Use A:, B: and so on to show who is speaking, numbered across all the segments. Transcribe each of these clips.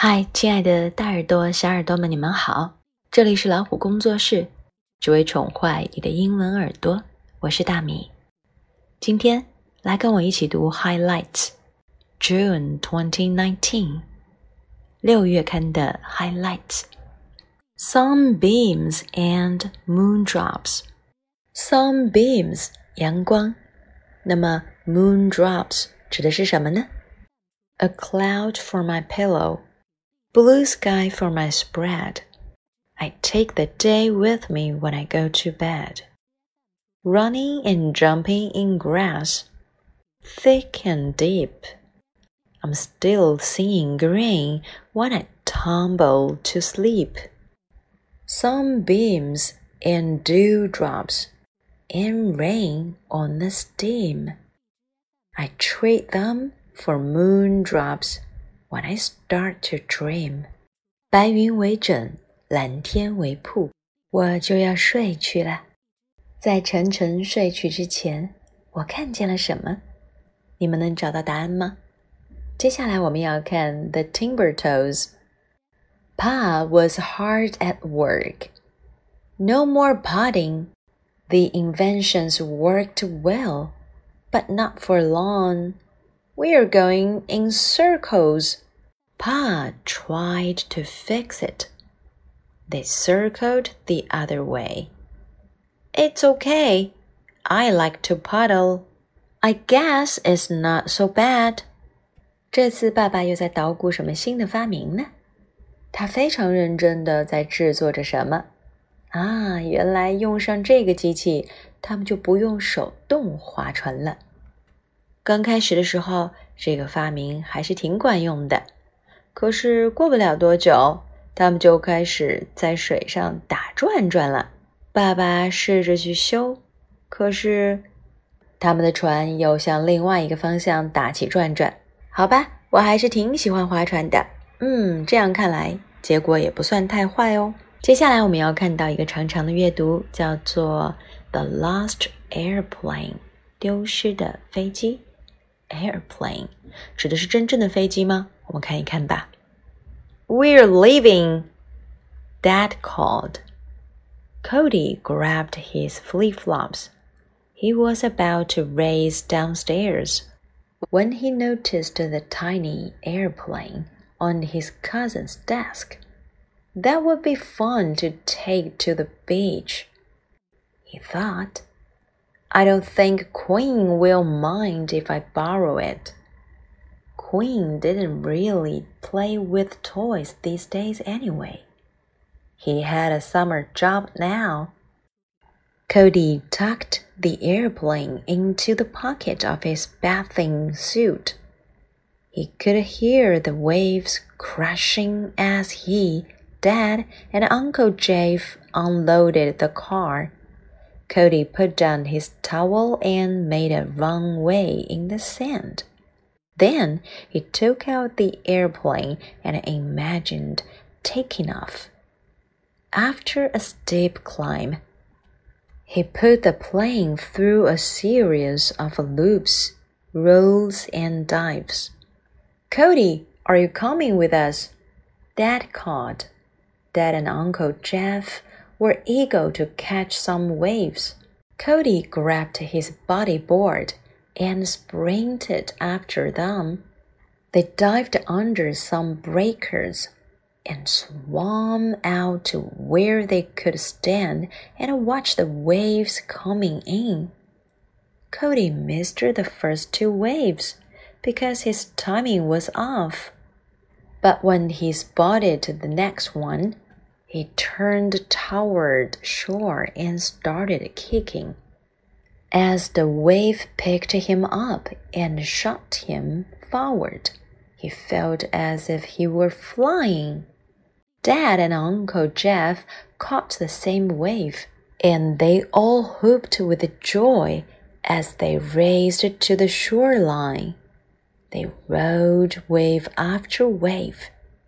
A: 嗨，亲爱的大耳朵、小耳朵们，你们好！这里是老虎工作室，只为宠坏你的英文耳朵。我是大米。今天来跟我一起读 Highlights June 2019 6月刊的 Highlights Sunbeams and Moondrops Sunbeams 阳光，那么 Moondrops 指的是什么呢？ A cloud for my pillow,Blue sky for my spread. I take the day with me when I go to bed. Running and jumping in grass, thick and deep. I'm still seeing green when I tumble to sleep. Sunbeams and dewdrops and rain on the steam. I trade them for moondrops.When I start to dream, 白云为枕，蓝天为铺，我就要睡去了。在沉沉睡去之前，我看见了什么？你们能找到答案吗？接下来我们要看 The Timbertoes. Pa was hard at work. No more potting. The inventions worked well, but not for long. We're going in circles.Pa tried to fix it. They circled the other way. It's okay. I like to puddle. I guess it's not so bad. 这次爸爸又在捣鼓什么新的发明呢？他非常认真地在制作着什么？原来用上这个机器，他们就不用手动划船了。刚开始的时候，这个发明还是挺管用的。可是过不了多久，他们就开始在水上打转转了。爸爸试着去修，可是他们的船又向另外一个方向打起转转。好吧，我还是挺喜欢划船的。这样看来，结果也不算太坏哦。接下来我们要看到一个长长的阅读，叫做 The Lost Airplane， 丢失的飞机。Airplane 指的是真正的飞机吗？我们看一看吧。We're leaving, Dad called. Cody grabbed his flip-flops. He was about to race downstairs when he noticed the tiny airplane on his cousin's desk. That would be fun to take to the beach, he thought.I don't think Queen will mind if I borrow it. Queen didn't really play with toys these days anyway. He had a summer job now. Cody tucked the airplane into the pocket of his bathing suit. He could hear the waves crashing as he, Dad, and Uncle Jeff unloaded the car.Cody put down his towel and made a runway in the sand. Then he took out the airplane and imagined taking off. After a steep climb, he put the plane through a series of loops, rolls, and dives. Cody, are you coming with us? Dad called. Dad and Uncle Jeff.were eager to catch some waves. Cody grabbed his bodyboard and sprinted after them. They dived under some breakers and swam out to where they could stand and watch the waves coming in. Cody missed the first two waves because his timing was off. But when he spotted the next one,He turned toward shore and started kicking. As the wave picked him up and shot him forward, he felt as if he were flying. Dad and Uncle Jeff caught the same wave, and they all whooped with joy as they raced to the shoreline. They rode wave after wave.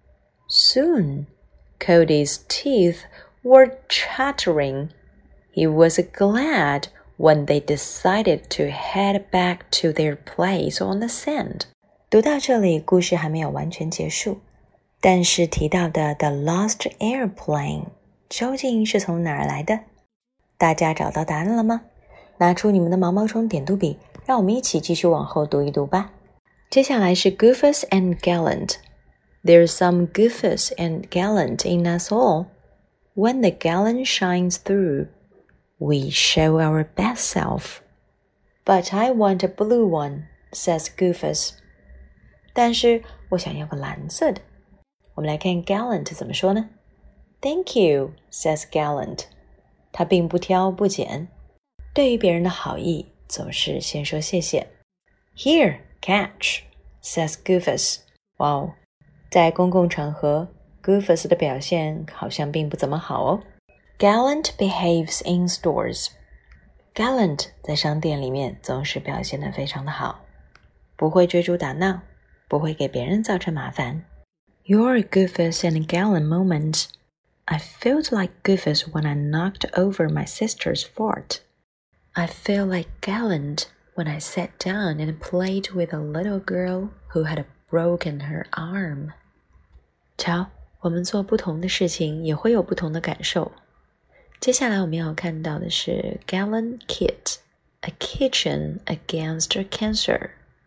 A: Soon,Cody's teeth were chattering. He was glad when they decided to head back to their place on the sand. 读到这里，故事还没有完全结束。 但是提到的 The Lost Airplane 究竟是从哪儿来的？大家找到答案了吗？拿出你们的毛毛虫点读笔，让我们一起继续往后读一读吧。接下来是 Goofus and Gallant。There's some goofus and gallant in us all. When the gallant shines through, we show our best self. But I want a blue one, says Goofus. 但是我想要个蓝色的。我们来看 gallant 怎么说呢？ Thank you, says Gallant. 他并不挑不拣，对于别人的好意总是先说谢谢。Here, catch, says Goofus. 哇哦，在公共场合 Goofus 的表现好像并不怎么好哦。Gallant behaves in stores. Gallant 在商店里面总是表现得非常的好，不会追逐打闹，不会给别人造成麻烦。You're a Goofus in a gallant moment. I felt like Goofus when I knocked over my sister's fort. I feel like Gallant when I sat down and played with a little girl who had broken her arm. 瞧，我们做不同的事情也会有不同的感受。接下来我们要看到的是 Gallant Kit, a kitchen against cancer.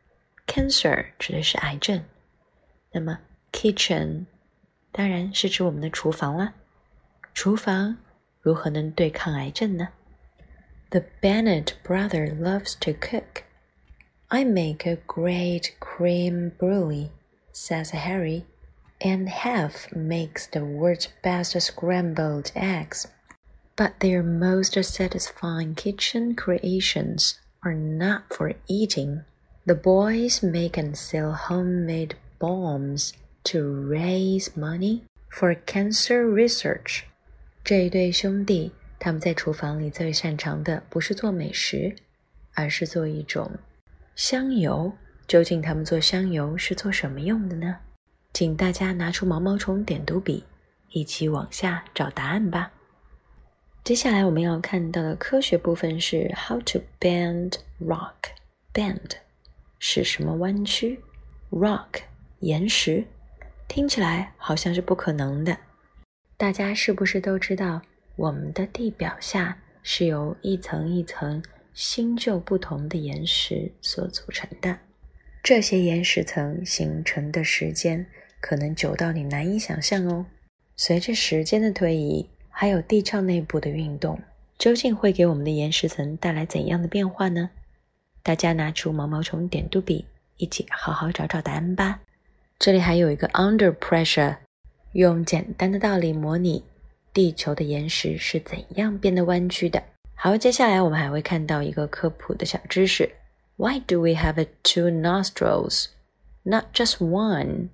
A: Cancer 指的是癌症，那么 kitchen 当然是指我们的厨房啦。厨房如何能对抗癌症呢？ The Bennett brother loves to cook. I make a great cream brulee, says Harry, and Hef makes the world's best scrambled eggs. But their most satisfying kitchen creations are not for eating. The boys make and sell homemade bombs to raise money for cancer research. 这一对兄弟，他们在厨房里最擅长的不是做美食，而是做一种香油。究竟他们做香油是做什么用的呢？请大家拿出毛毛虫点读笔，一起往下找答案吧。接下来我们要看到的科学部分是 How to bend rock. Bend 是什么弯曲？ Rock 岩石，听起来好像是不可能的。大家是不是都知道我们的地表下是由一层一层新旧不同的岩石所组成的？这些岩石层形成的时间可能久到你难以想象哦。随着时间的推移，还有地壳内部的运动，究竟会给我们的岩石层带来怎样的变化呢？大家拿出毛毛虫点读笔，一起好好找找答案吧。这里还有一个 under pressure， 用简单的道理模拟地球的岩石是怎样变得弯曲的。好，接下来我们还会看到一个科普的小知识。Why do we have 2 nostrils? Not just one.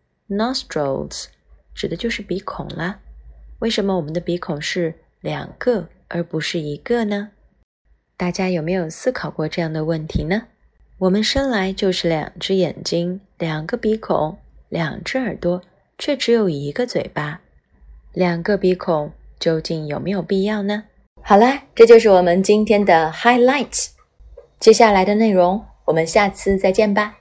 A: Nostrils 指的就是鼻孔啦。为什么我们的鼻孔是2个而不是1个呢？大家有没有思考过这样的问题呢？我们生来就是2只眼睛、2个鼻孔、2只耳朵，却只有1个嘴巴。2个鼻孔究竟有没有必要呢？好啦，这就是我们今天的 highlights。接下来的内容，我们下次再见吧。